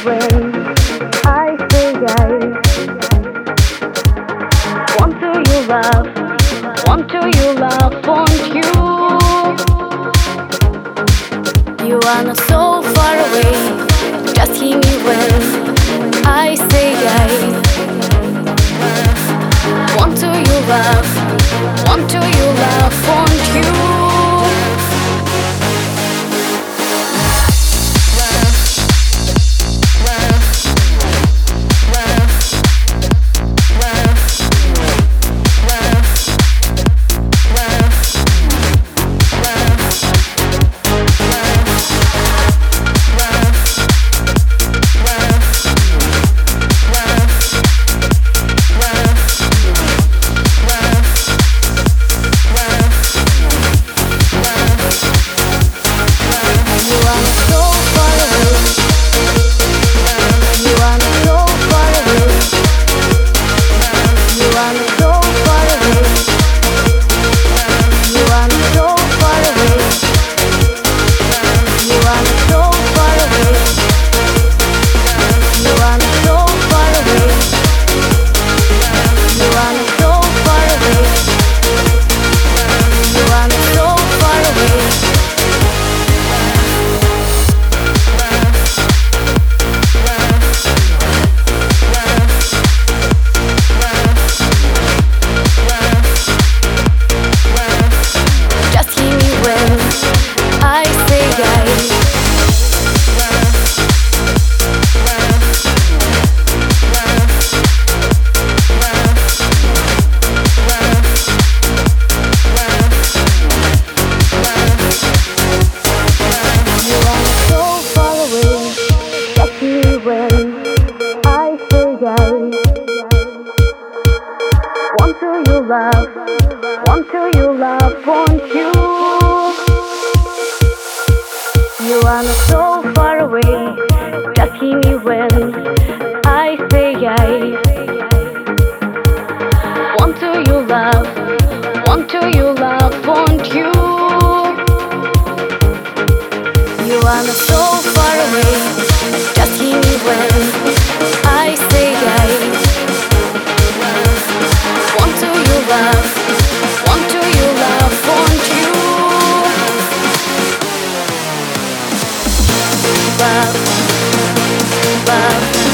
when I say I want to you love, want you. You are not so far away, just hear me when I say I want to you love, want you. Want you. You are not so far away, just hear me when I say I want to you love, want you. You are not so far away, just hear me when I say I want to you love, want you. Love.